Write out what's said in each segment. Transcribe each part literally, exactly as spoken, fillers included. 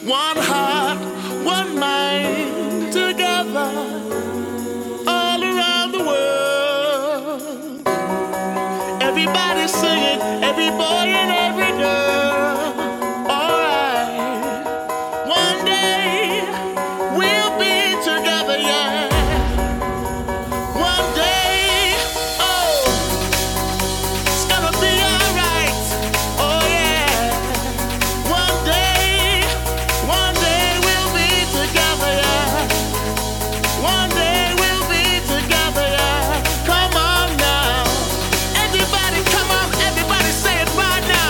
One heart, one mind, together, all around the world. Everybody singing, every boy and every girl. Alright, one day we'll be together, yeah. One day, oh, it's gonna be alright. Oh yeah. One day, one day we'll be together, yeah. One day we'll be together, yeah. Come on now. Everybody, come on, everybody say it right now.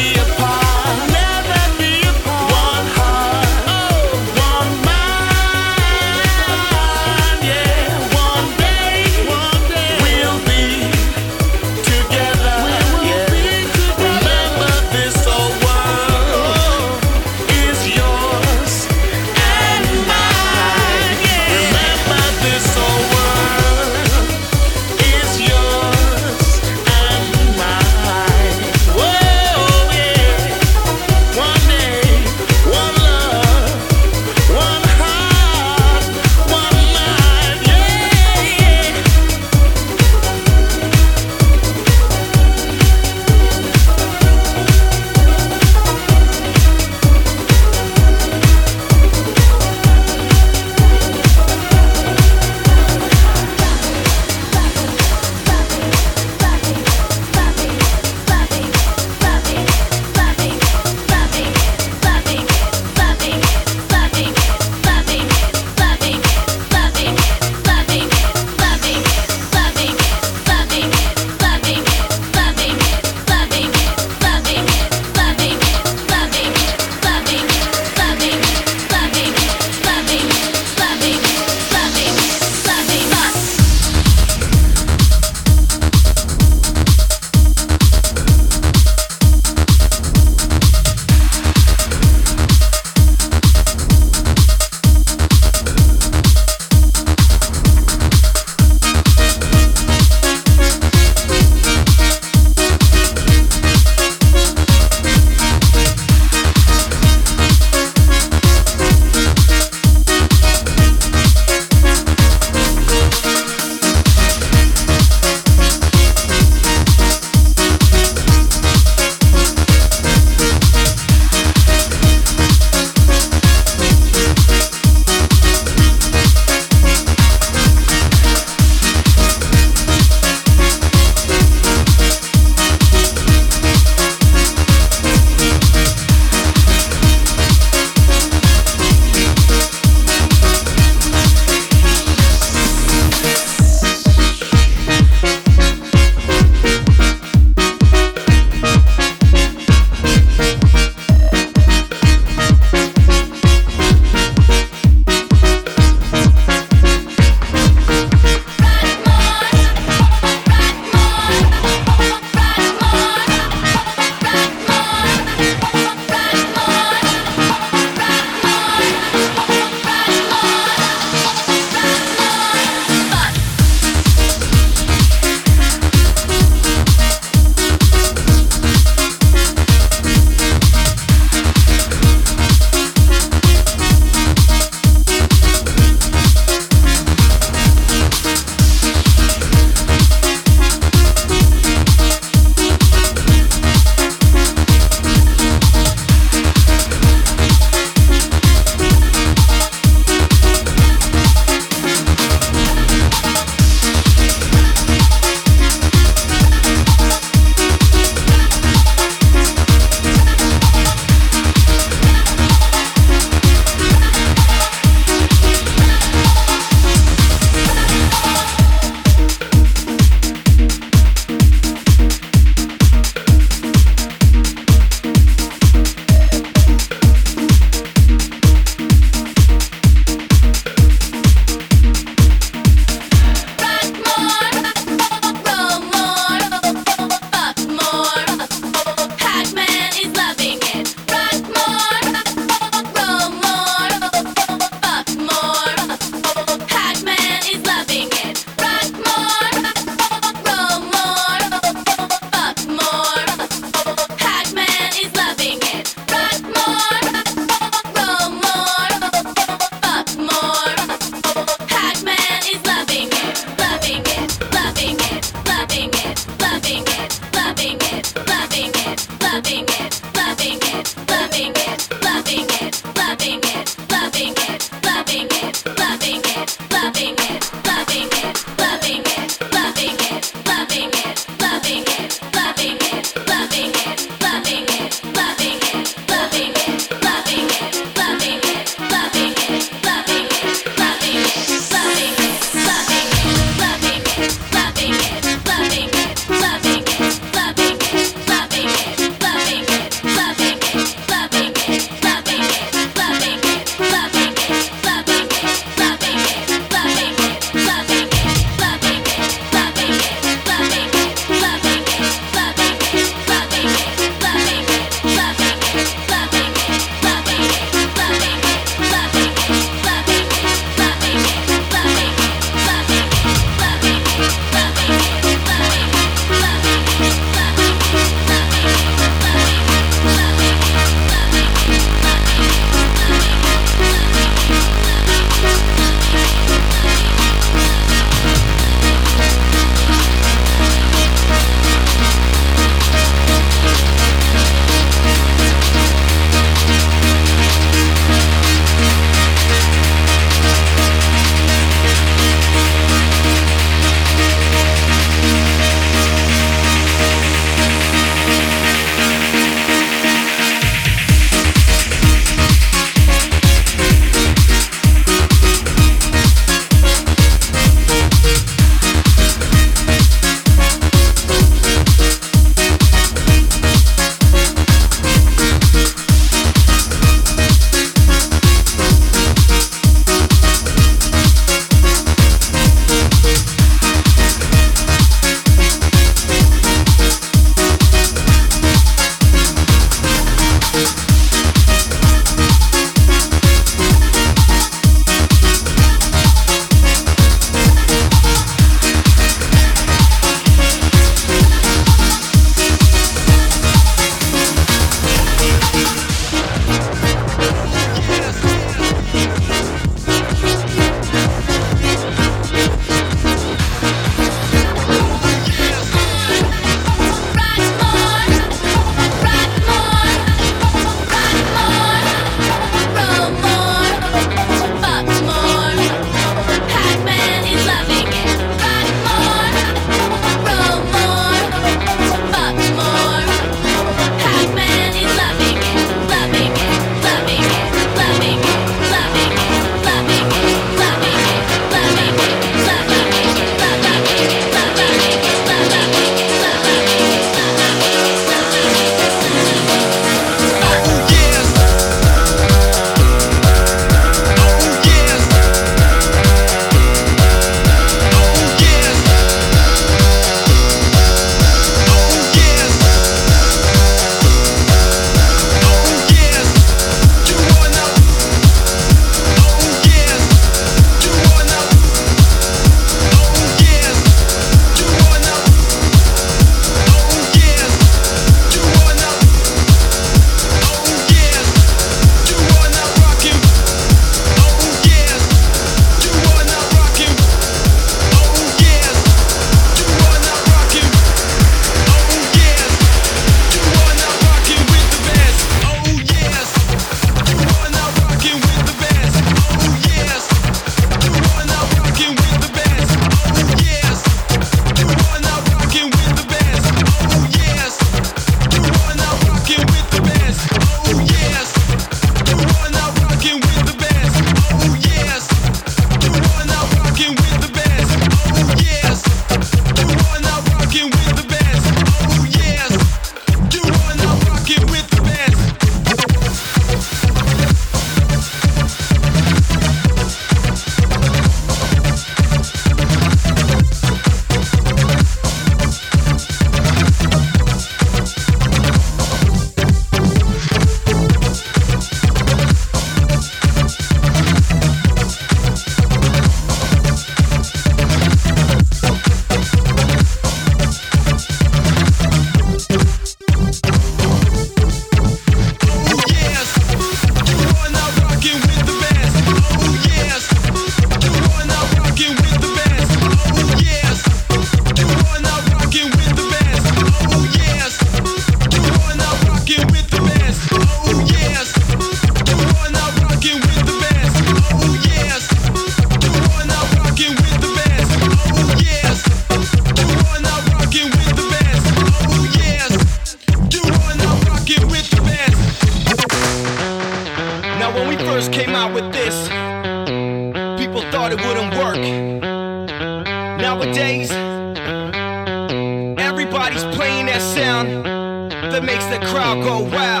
first came out with this, people thought it wouldn't work. Nowadays, everybody's playing that sound that makes the crowd go wow.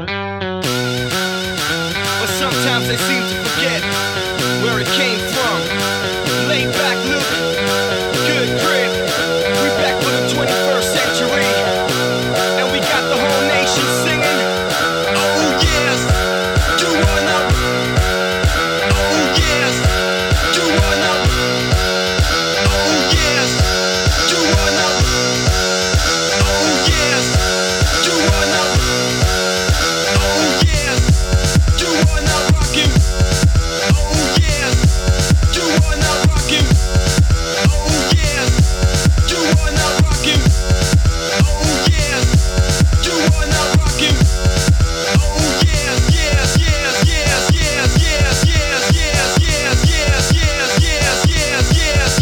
But sometimes they seem to forget where it came from. Laid back Luke, good grip. We back for the twenty-first century, and we got the whole nation singing. Oh yes, do wanna. Oh yes, do wanna. Oh yes, do wanna. Oh yes, do wanna. Oh yes, do wanna rock it. Oh yes, do wanna rock it. Oh yes, do wanna rock it. Oh yes, do wanna rock it. Oh yes, yes, yes, yes, yes, yes, yes, yes, yes, yes, yes, yes, yes, yes,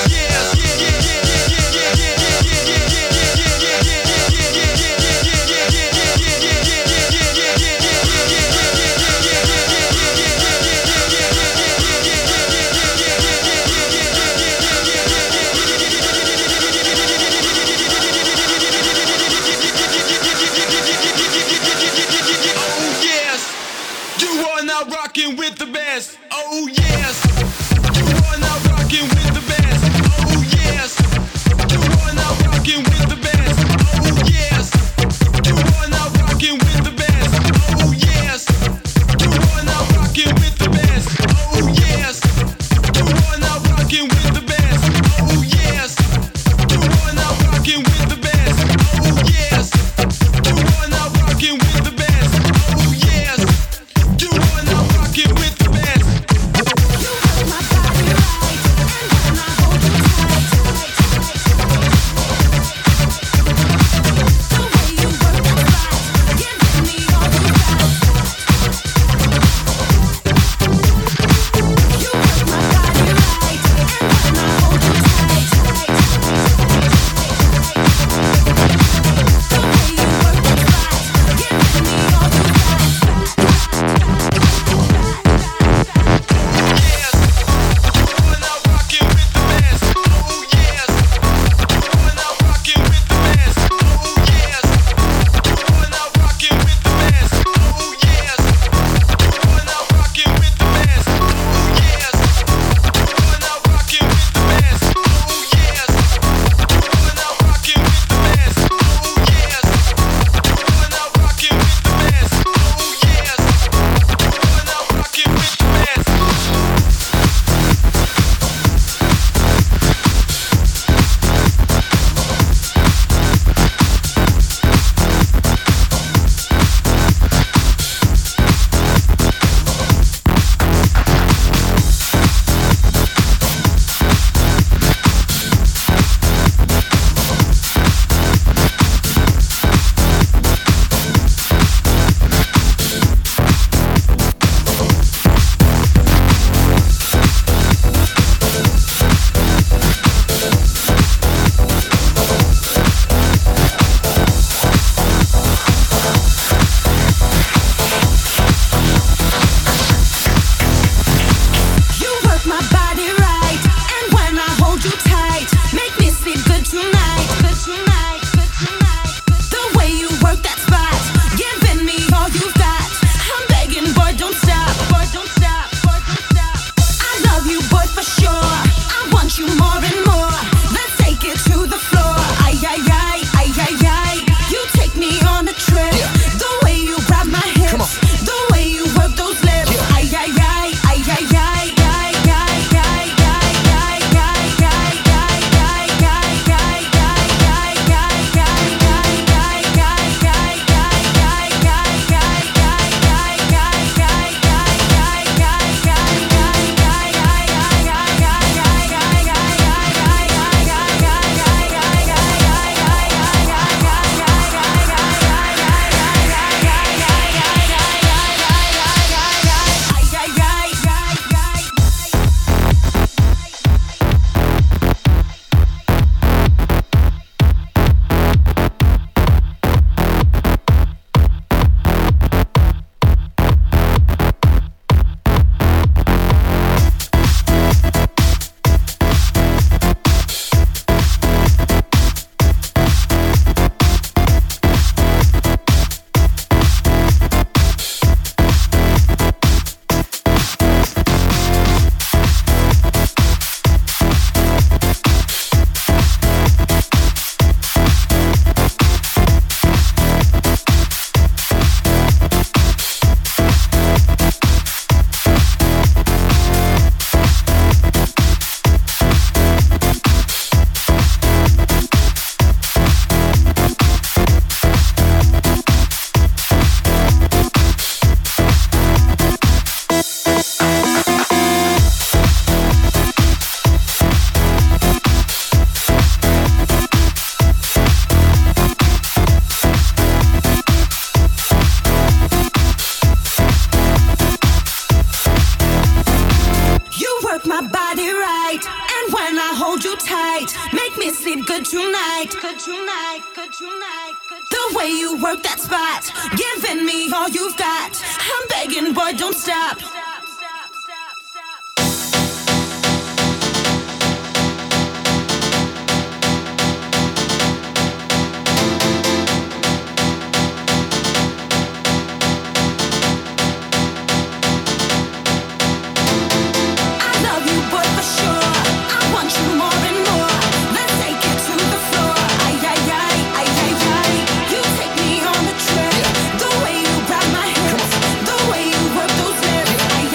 rockin' with the best. Oh yes, you wanna rockin' with the best. Oh yes, you wanna rockin' with the best. Oh yes, you wanna rockin' with the best. Oh yes, you wanna rockin' with the best. Oh yes, you wanna rockin' with the best. Oh yes, you wanna rockin' with the best. Oh yes, you wanna rockin' with the best. Oh yes, you wanna rockin' with the best. You got my body right. tight. Make me sleep good tonight. Good tonight, good tonight, good tonight. The way you work that spot, giving me all you've got. I'm begging, boy, don't stop. The way you grab my hips, the way you work those lips.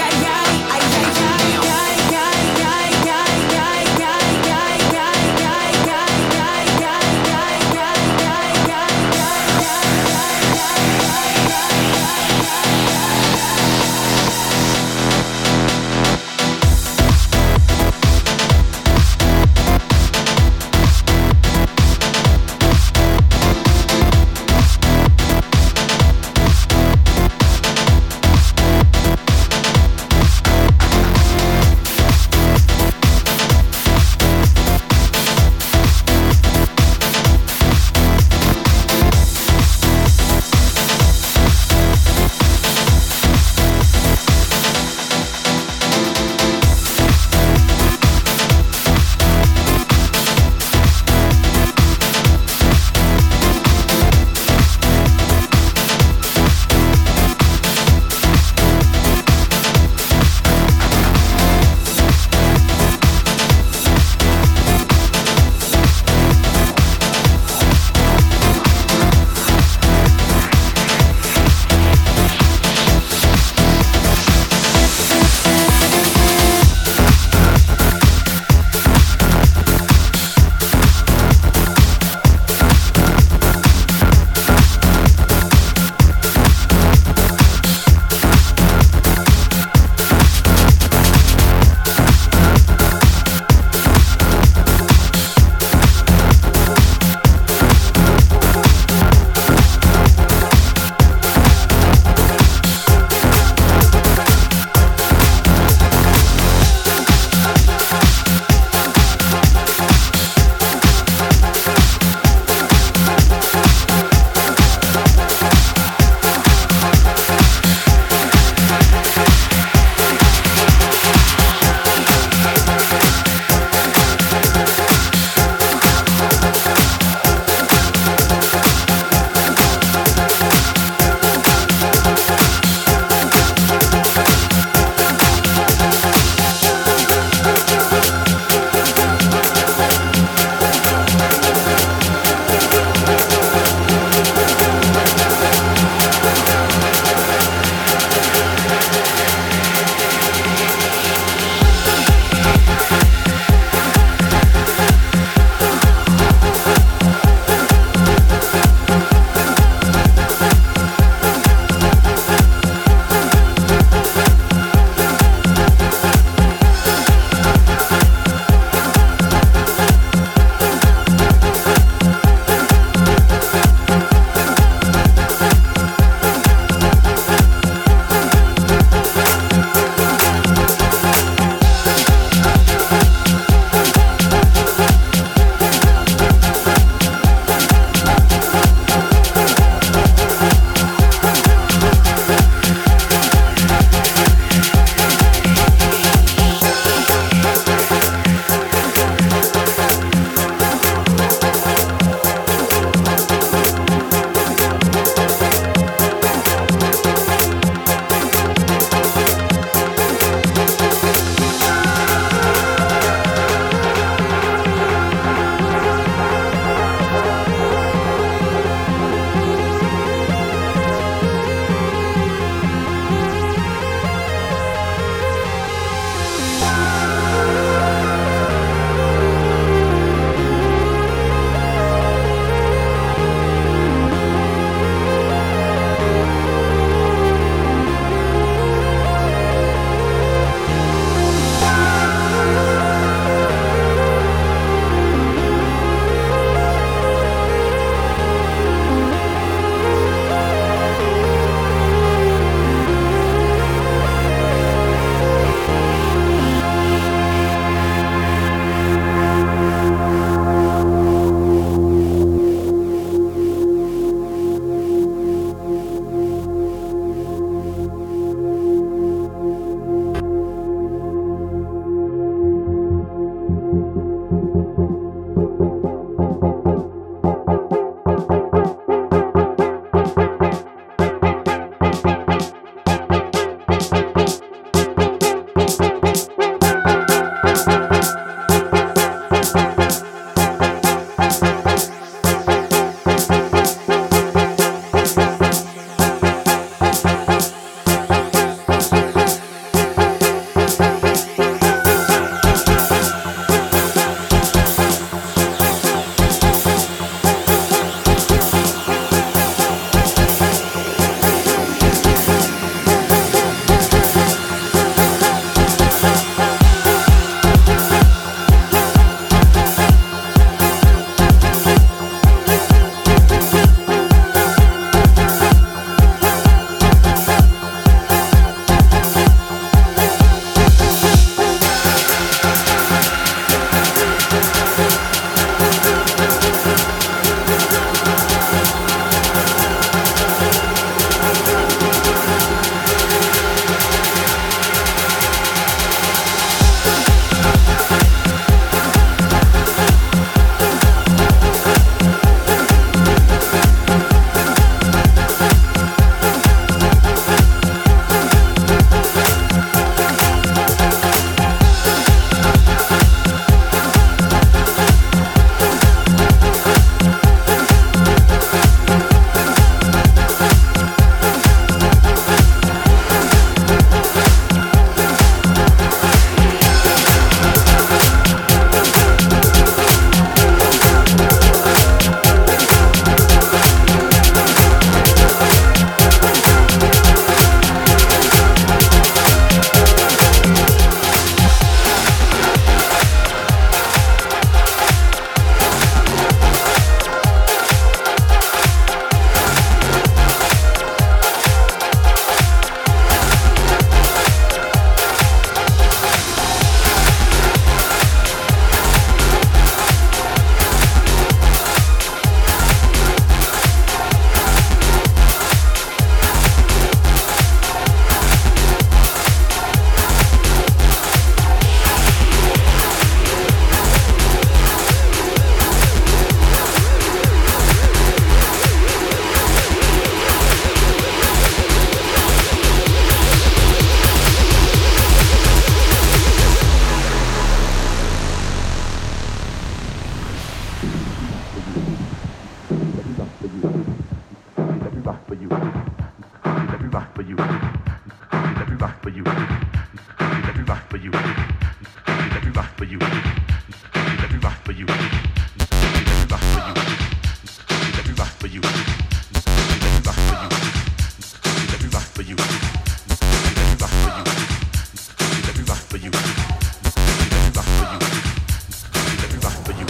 rock for you. Let me rock for you. Let me rock for you. Let me rock for you. Let me rock for you. Let me rock for you. Let me rock for you. Let me rock for you. Let me rock for you. Let me rock for you. Let me rock for you. Let me rock for you. Let me rock for you. Let me rock for you.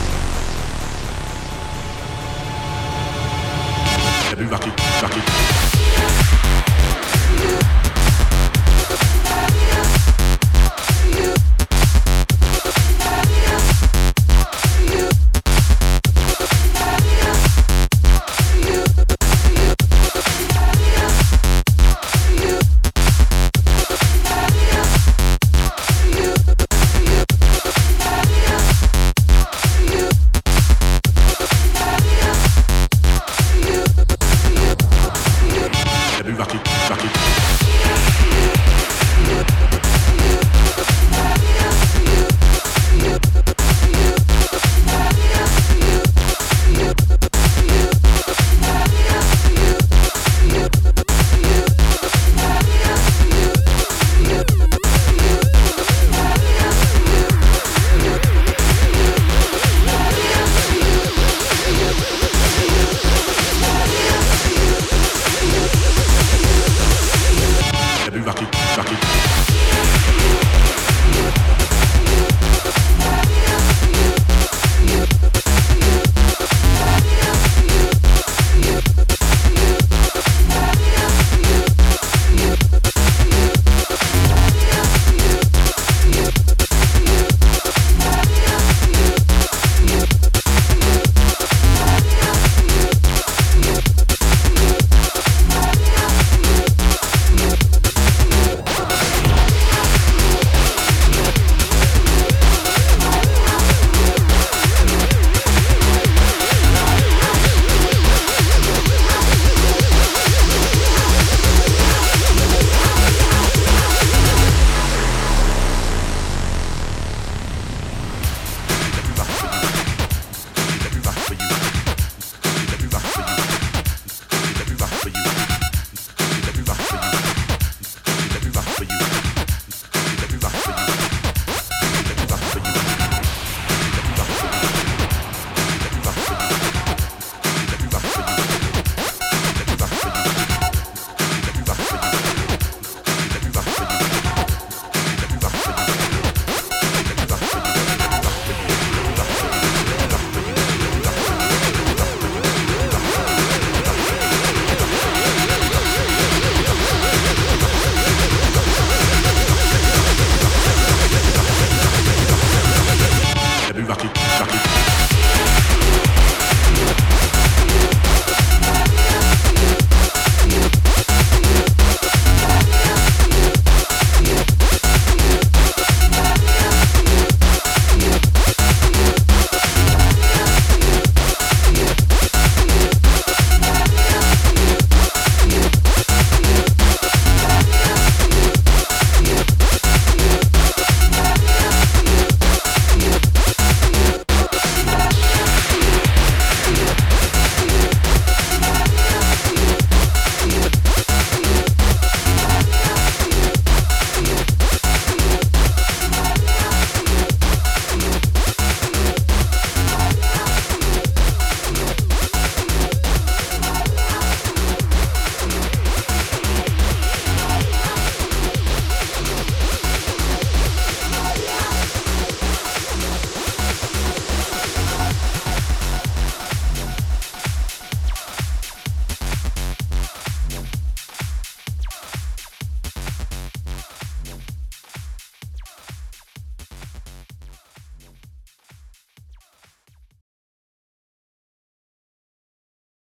Let me rock it, rock it.